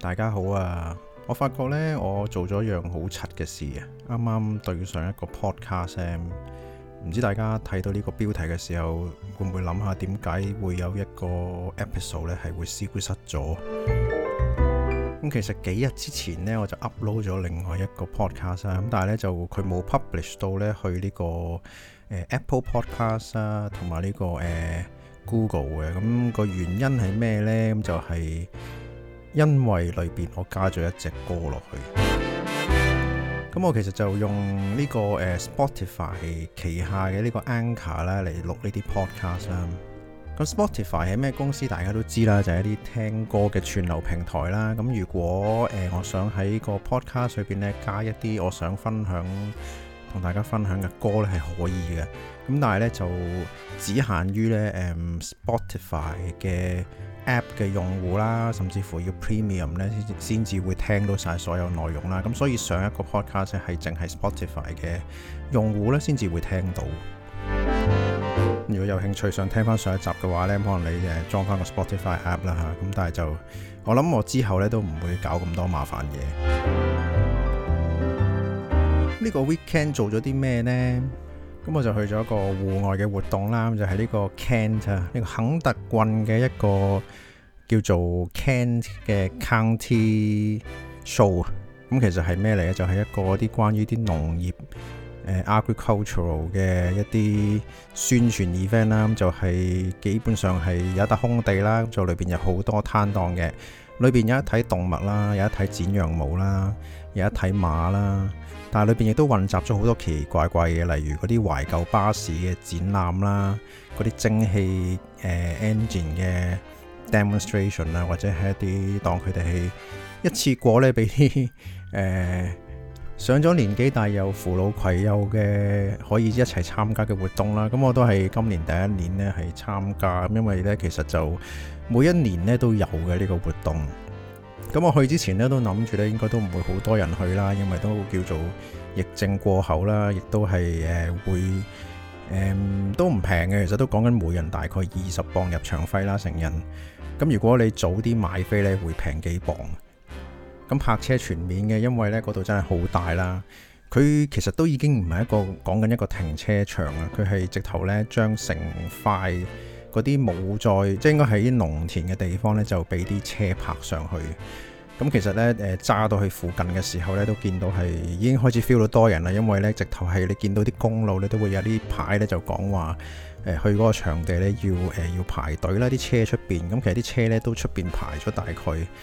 大家好啊！我發覺呢，我做咗一樣好柒嘅事啊！啱啱對上一個 podcast，唔知大家睇到呢個標題嘅時候，會唔會諗下點解會有一個 episode 呢係會消失咗？咁其實幾日之前呢，我就 upload 咗另外一個 podcast 啊，咁但係呢，就佢冇 publish 到呢去呢個Apple Podcast 啊，同埋呢個Google 嘅。咁個原因係咩呢？咁就係因為裏邊我加咗一隻歌落去。咁我其實就用呢個Spotify 旗下嘅呢個 Anchor 啦嚟錄呢啲 podcast 啦。咁 Spotify 係咩公司？大家都知啦，就係一啲聽歌嘅串流平台啦。咁如果我想喺個 podcast 裏邊咧加一啲我想分享同大家分享嘅歌咧，係可以嘅。咁但係咧就只限於咧Spotify 嘅 app 嘅用戶啦，甚至乎要 premium 咧先至會聽到晒所有內容啦。咁所以上一個 podcast 係淨係 Spotify 嘅用戶咧先至會聽到。如果有興趣想聽翻上一集嘅話咧，可能你裝翻個 Spotify app 啦嚇。咁但係就我諗我之後咧都唔會搞咁多麻煩嘢。呢個 weekend 做咗啲咩呢？咁我就去咗一個戶外嘅活動啦，就係呢個 Kent 啊，呢個肯特郡嘅一個叫做 Kent 嘅 County Show。咁其實係咩嚟咧？就係一個啲關於啲農業agricultural 嘅一啲宣傳 event 啦。咁就係基本上係有一笪空地啦，就裏邊有好多攤檔嘅，裏邊有一睇動物啦，有一睇剪羊毛啦，有一睇馬啦。但係裏邊亦都混雜咗好多奇奇怪怪嘅，例如嗰啲懷舊巴士嘅展覽啦，嗰啲蒸汽engine 嘅 demonstration 啦，或者係一啲當佢哋係一次過咧俾啲上咗年紀但係又扶老攜幼嘅可以一齊參加嘅活動啦。咁我都係今年第一年咧係參加，因為咧其實就每一年咧都有嘅呢個活動。咁我去之前咧都諗住咧應該都唔會好多人去啦，因為都叫做疫症過後啦，亦都係會都唔平嘅，其實都講緊每人大概20磅入場費啦，成人。咁如果你早啲買飛咧，會平幾磅。咁泊車全免嘅，因為咧嗰度真係好大啦。佢其實都已經唔係一個講緊一個停車場啦，佢係直頭咧將成塊嗰啲冇在，即係應該喺啲農田嘅地方咧，就俾啲車泊上去。咁其實咧揸到去附近嘅時候咧，都見到係已經開始 feel 到多人啦，因為咧直頭係你見到啲公路咧都會有啲牌咧就講話去嗰個場地咧要排隊啦，啲車出邊。咁其實啲車咧都出邊排咗大概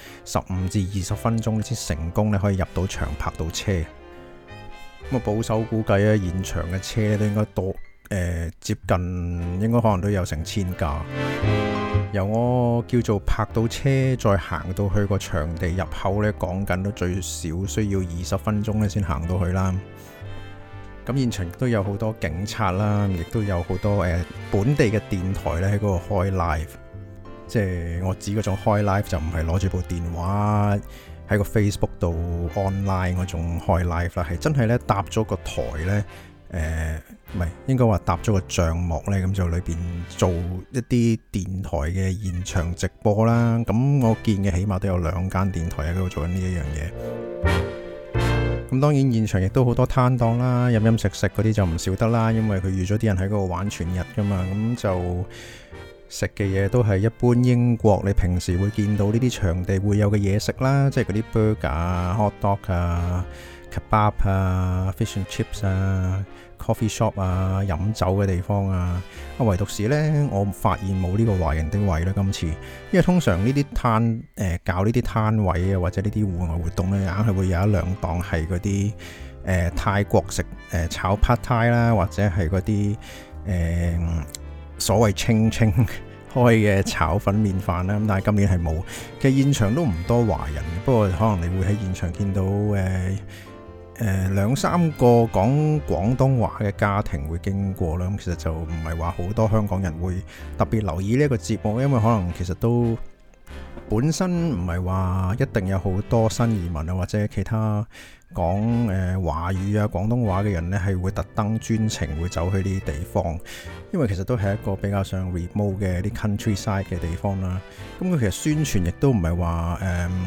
15至20分鐘先成功咧可以入到場泊到車。咁啊保守估計咧現場嘅車咧都應該多接近應該可能都有成1000架。由我叫做泊到車再行到去個場地入口咧，講緊都最少需要20分鐘咧先行到去啦。咁現場亦都有好多警察啦，亦都有好多本地嘅電台咧喺嗰度開 live。即係我指嗰種開 live 就唔係攞住部電話喺個 Facebook 度 online 嗰種開 live 啦，係真係咧搭咗個台咧。唔係應該話搭咗個帳幕呢，咁就裏邊做一啲電台嘅現場直播啦。咁我見嘅起碼都有2間電台喺度做緊呢一樣嘢。咁當然現場亦都好多攤檔啦，飲飲食食嗰啲就唔少得啦，因為佢預咗啲人喺嗰度玩全日噶嘛。咁就食嘅嘢都係一般英國你平時會見到呢啲場地會有嘅嘢食啦，即係嗰啲 burger 啊、hot dog 啊、kebab 啊、fish and chips 啊、coffee shop 啊、飲酒嘅地方啊。唯獨是呢，我發現冇呢個華人的位啦今次，因為通常呢啲搞呢啲攤位啊，或者呢啲戶外活動呢，硬係會有1-2檔係嗰啲泰國食炒 pad thai 啦，或者係嗰啲所謂清清開嘅炒粉麵飯啦。咁但係今年係冇，其實現場都唔多華人，不過可能你會喺現場見到2-3個講廣東話嘅家庭會經過啦。咁其實就唔係話好多香港人會特別留意呢一個節目，因為可能其實都本身唔係話一定有好多新移民啊，或者其他講華語啊廣東話嘅人呢，係會特登專程會走去呢啲地方，因為其實都係一個比較上 remote 嘅啲 countryside 嘅地方啦。咁佢其實宣傳亦都唔係話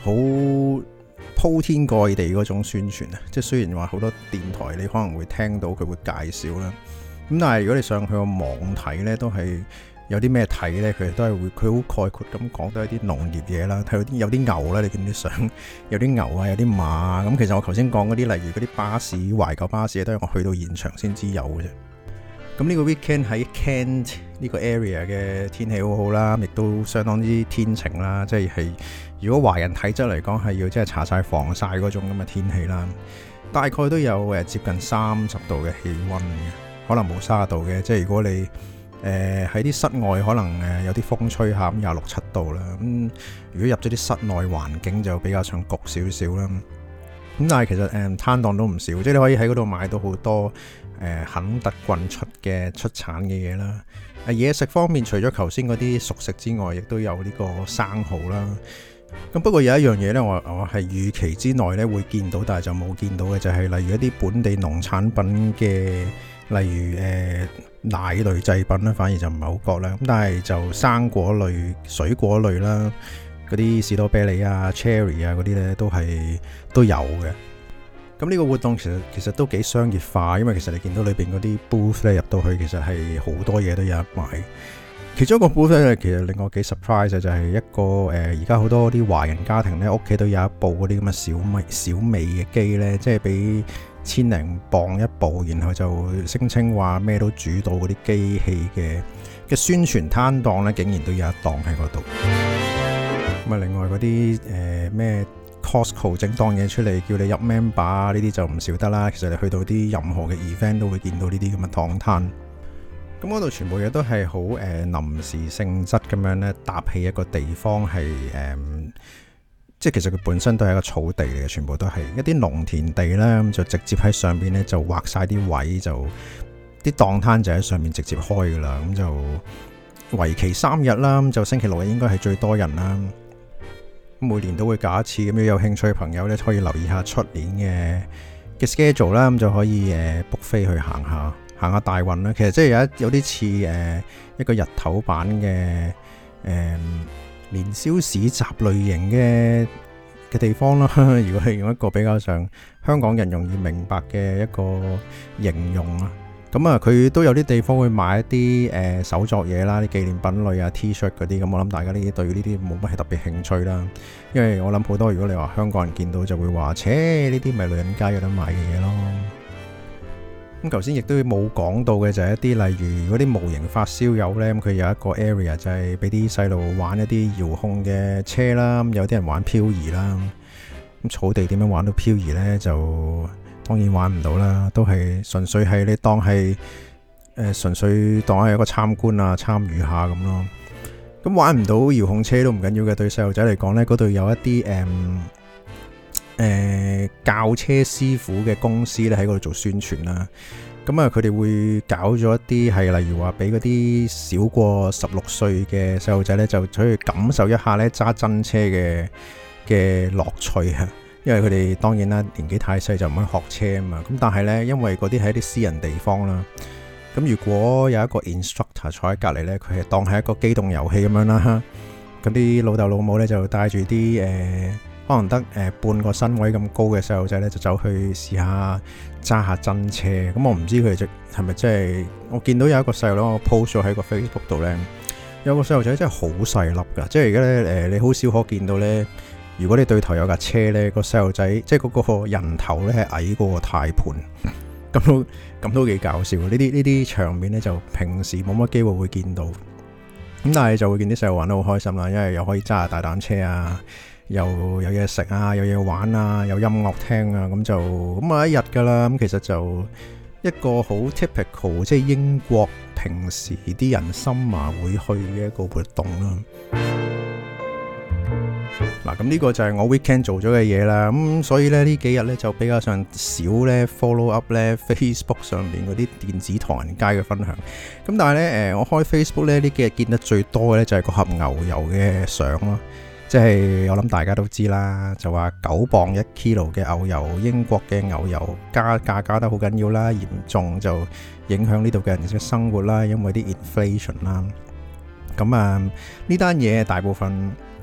好鋪天蓋地嗰種宣傳啊！即係雖然話好多電台你可能會聽到佢會介紹啦，咁但係如果你上去個網睇呢，都係有啲咩睇呢？佢都係會佢好概括咁講到一啲農業嘢啦，睇到有啲牛啦，你見啲相有啲牛啊，有啲馬啊。咁其實我頭先講嗰啲，例如嗰啲巴士懷舊巴士都係我去到現場先知有嘅啫。咁呢個 weekend 喺 Kent 呢個 area 嘅天氣好好啦，亦都相當之天晴啦，即係如果華人體質嚟講係要即係搽晒防曬嗰種咁嘅天氣啦，大概都有接近30度嘅氣溫嘅，可能冇30度嘅，即係如果你喺啲室外可能有啲風吹下咁26、27度啦，咁如果入咗啲室內環境就比較上焗少少啦，咁但係其實攤檔都唔少，即係你可以喺嗰度買到好多肯特郡出產嘅嘢啦。嘢食方面，除咗頭先嗰啲熟食之外，亦都有呢個生蠔啦。咁不過有一樣嘢呢，我係預期之內呢會見到，但係就冇見到嘅，就係例如一啲本地農產品嘅，例如奶類製品啦，反而就唔係好覺啦。咁但係就生果類、水果類啦，嗰啲士多啤梨啊、cherry 啊嗰啲呢都有嘅。咁呢個活動其實都幾商業化，因為其實你見到裏邊嗰啲 booth 咧，入到去，其實係好多嘢都有得買。其中一個 booth 咧，其實令我幾 surprise 嘅就係一個而家好多啲華人家庭咧，屋企都有一部嗰啲咁嘅小米嘅機咧，即係俾1000零磅一部，然後就聲稱話咩都煮到嗰啲機器嘅宣傳攤檔咧，竟然都有一檔喺嗰度。咁啊，另外嗰啲咩Costco 整檔嘢出嚟叫你入 member 呢啲就唔少得啦。其實你去到啲任何嘅 event 都會見到呢啲咁嘅檔攤。咁嗰度全部嘢都係好臨時性質咁樣咧，搭起一個地方係即係其實佢本身都係一個草地嚟嘅，全部都係一啲農田地啦。咁就直接喺上邊咧就畫晒啲位，就啲檔攤就喺上面直接開噶啦。咁就為期3日啦。咁就星期6日應該係最多人啦。每年都會搞一次，咁如果有興趣嘅朋友咧，可以留意下出年嘅 schedule 啦，咁就可以book飛去行下大運啦。其實即係有啲似一個日頭版嘅年宵市集類型嘅地方啦。如果係用一個比較上香港人容易明白嘅一個形容啊。咁啊，佢都有啲地方會買一啲手作嘢啦，啲紀念品類啊 T-shirt 嗰啲。咁我諗大家呢啲對呢啲冇乜特別興趣啦，因為我諗好多如果你話香港人見到就會話，切呢啲咪女人街有得買嘅嘢咯。咁頭先亦都冇講到嘅就係一啲例如嗰啲模型發燒友呢，咁佢有一個 area 就係俾啲細路玩一啲遙控嘅車啦，有啲人玩漂移啦。咁草地點樣玩到漂移呢？就當然玩唔到啦，都係純粹係你當係純粹當係一個參觀啊，參與下咁咯。咁玩唔到遙控車都唔緊要嘅，對細路仔嚟講呢，嗰度有一啲教車師傅嘅公司咧喺嗰度做宣傳啦。咁啊，佢哋會搞咗一啲係例如話俾嗰啲少過16歲嘅細路仔呢，就去感受一下呢揸真車嘅樂趣啊。因為佢哋當然啦，年紀太細就唔可以學車啊嘛。咁但係呢，因為嗰啲係一啲私人地方啦。咁如果有一個 instructor 坐喺隔離呢，佢係當係一個機動遊戲咁樣啦。咁啲老豆老母呢，就帶住啲可能得半個身位咁高嘅細路仔呢，就走去試下揸下真車。咁我唔知佢哋係咪真係，我見到有一個細路佬，我 post 咗喺個 Facebook 度呢，有個細路仔真係好細粒㗎。即係而家呢，你好少可見到呢。如果你對頭有架車呢，個細路仔即係嗰個人頭呢係矮過個軚盤，咁都幾搞笑。呢啲場面呢，就平時冇乜機會會見到，咁但係就會見啲細路玩得好開心啦，因為又可以揸下大膽車啊，又有嘢食啊，有嘢玩啊，有音樂聽啊，咁啊一日噶啦。咁其實就一個好 typical 即係英國平時啲人summer會去嘅一個活動啦。嗱，咁呢個就係我 weekend 做咗嘅嘢啦。咁所以咧呢幾日咧就比較上少咧 follow up 咧 Facebook 上面嗰啲電子唐人街嘅分享。咁但係咧我開 Facebook 咧呢幾日見得最多嘅咧就係個盒牛油嘅相咯。即係我諗大家都知啦，就話9磅1 kilo 嘅牛油，英國嘅牛油加價加得好緊要啦，嚴重就影響呢度嘅人嘅生活啦，因為啲 inflation 啦。咁呢單嘢大部分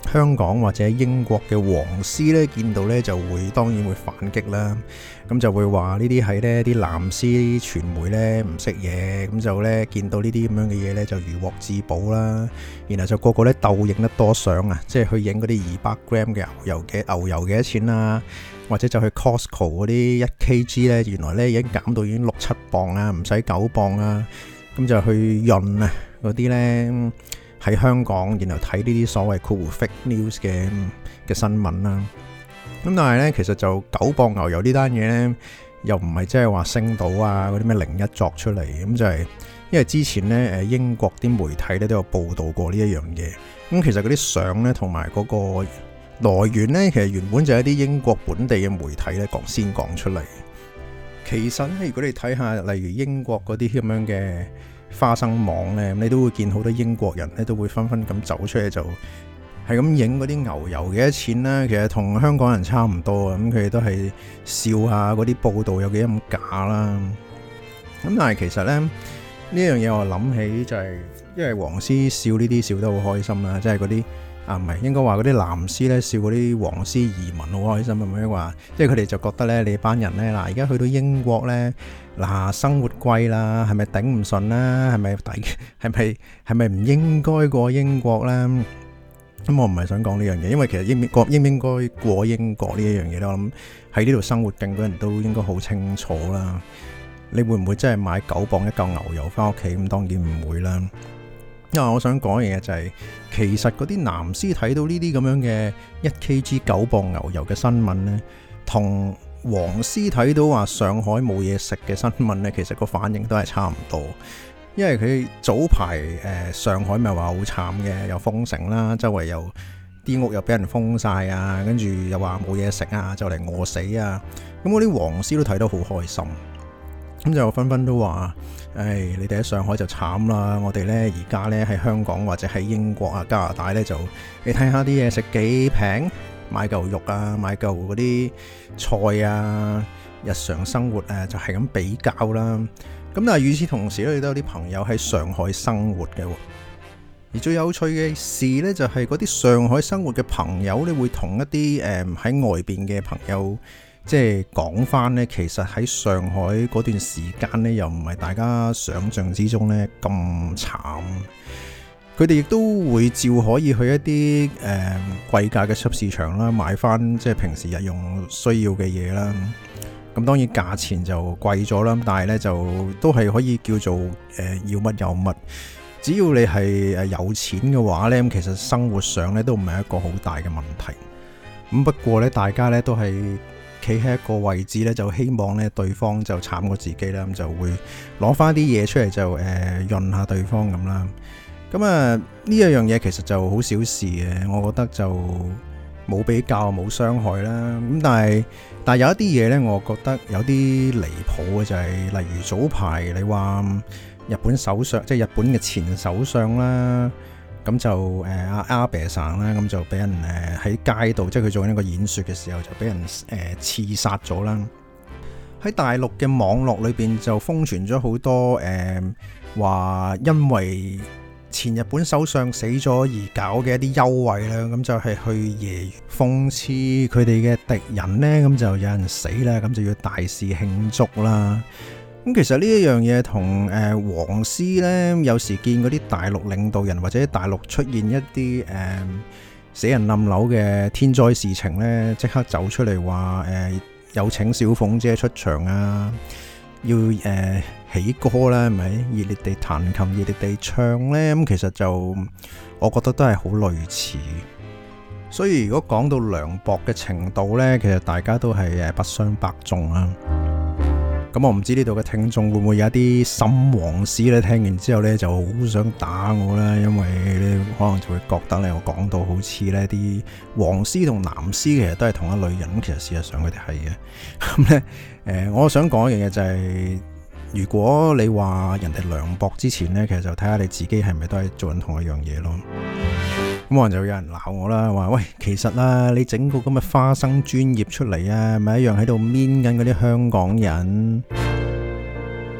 香港或者英國嘅黃絲呢，見到呢就當然會反擊啦。咁就會話呢啲係呢啲藍絲傳媒呢唔識嘢，咁就呢見到呢啲咁樣嘅嘢呢就如獲至寶啦。然後就個個呢鬥影得多相啊，即係去影嗰啲200 gram 嘅牛油幾多錢啊，或者就去 Costco 嗰啲1 kg 呢，原來呢已經減到已經6-7磅啊，唔使9磅啊。咁就去潤啊嗰啲呢喺香港，然後睇呢啲所謂fake news 嘅新聞啦。咁但係呢，其實就9磅牛油呢單嘢呢，又唔係即係話星島啊嗰啲咩01作出嚟。咁就係因為之前呢，英國啲媒體呢都有報導過呢一樣嘢。咁其實嗰啲相呢，同埋嗰個來源呢，其實原本就係一啲英國本地嘅媒體呢先講出嚟。其實呢，如果你睇下例如英國嗰啲咁樣嘅花生網呢，你都會見好多英國人呢都會紛紛咁走出嚟，就係咁影嗰啲牛油幾多錢啦。其實同香港人差唔多啊，咁佢哋都係笑下嗰啲報道有幾咁假啦。咁但係其實呢樣嘢我諗起就係，因為黃絲笑呢啲笑得好開心啦，即係嗰啲唔係應該話嗰啲藍絲呢笑嗰啲黃絲移民好開心咁樣話，即係佢哋就覺得呢，你班人呢，嗱而家去到英國呢，嗱生活貴啦，係咪頂唔順啦？係咪唔應該過英國啦？咁我唔係想講呢樣嘢，因為其實應唔應該過英國呢一樣嘢咧，我諗喺呢度生活勁嘅人都應該好清楚啦。你會唔會真係買9磅一嚿牛油翻屋企？咁當然唔會啦。因為我想講嘅嘢就係，其實嗰啲藍絲睇到呢啲咁樣嘅1 kg 9磅牛油嘅新聞呢，同黃絲睇到話上海冇嘢食嘅新聞呢，其實個反應都係差唔多。因為佢早排上海咪話好慘嘅，又封城啦，周圍又啲屋又俾人封晒啊，跟住又話冇嘢食啊，就嚟餓死啊。咁嗰啲黃絲都睇得好開心，咁就紛紛都話：你哋喺上海就慘啦，我哋呢而家呢喺香港或者喺英國啊、加拿大呢，就你睇下啲嘢食幾平，買嚿肉啊，買嚿嗰啲菜啊，日常生活就係咁比較啦。咁但係與此同時咧，亦都有啲朋友喺上海生活嘅。而最有趣嘅事呢，就係嗰啲上海生活嘅朋友呢，會同一啲喺外邊嘅朋友即係講翻呢，其實喺上海嗰段時間呢，又唔係大家想象之中呢咁慘。佢哋亦都會照可以去一啲貴價嘅超市場啦，買翻即係平時日用需要嘅嘢啦。咁當然價錢就貴咗啦，但係呢就都係可以叫做要乜有乜。只要你係有錢嘅話呢，咁其實生活上呢都唔係一個好大嘅問題。咁不過呢，大家呢都係企喺一個位置呢，就希望呢對方就慘過自己啦，咁就會攞翻啲嘢出嚟就潤下對方咁啦。咁啊呢一樣嘢其實就好小事嘅，我覺得就冇比較冇傷害啦。咁但係有一啲嘢呢，我覺得有啲離譜嘅就係，例如早排你話日本首相，即係日本嘅前首相啦，咁就阿阿伯桑啦，咁就俾人喺街度，即係佢做緊一個演說嘅時候，就俾人刺殺咗啦。喺大陸嘅網絡裏邊就瘋傳咗好多話因為前日本首相死咗而搞嘅一啲優惠啦，咁就係去揶諷刺佢哋嘅敵人呢，咁就有人死啦，咁就要大肆慶祝啦。咁其實呢一樣嘢同黃絲呢，有時見嗰啲大陸領導人或者大陸出現一啲死人冧樓嘅天災事情呢，即刻走出嚟話有請小鳳姐出場啊，要起歌啦，係咪熱烈地彈琴、熱烈地唱呢？咁其實就我覺得都係好類似。所以如果講到涼薄嘅程度呢，其實大家都係不相伯仲啊。咁我唔知呢度嘅聽眾會唔會有一啲深黃絲呢？聽完之後呢就好想打我啦，因為你可能就會覺得呢，我講到好似呢啲黃絲同藍絲其實都係同一類人，咁其實事實上佢哋係嘅。咁呢，我想講一樣嘢就係，如果你話人哋涼薄之前呢，其實就睇下你自己係咪都係做緊同一樣嘢咯。咁可能就有人鬧我啦，話喂，其實啦，你整個咁嘅花生專業出嚟啊，咪一樣喺度搣緊嗰啲香港人。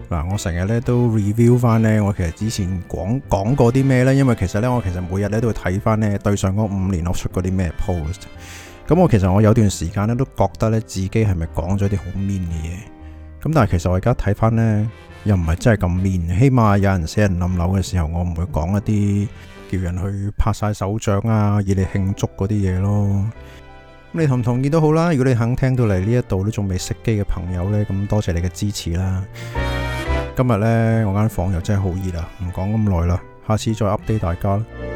嗱，我成日咧都 review 翻咧，我其實之前講過啲咩咧，因為其實咧我每日咧都會睇翻咧對上嗰5年我出過啲咩 post。咁其實我有段時間咧都覺得咧自己係咪講咗啲好 mean 嘅嘢？咁但係其實我而家睇翻咧又唔係真係咁 mean，起碼有人死人冧樓嘅時候，我唔會講一啲叫人去拍晒手掌啊，以你慶祝嗰啲嘢咯。咁你同唔同意都好啦。如果你肯聽到嚟呢一度都仲未熄機嘅朋友呢，咁多謝你嘅支持啦。今日呢，我間房又真係好熱啦，唔講咁耐啦，下次再 update 大家啦。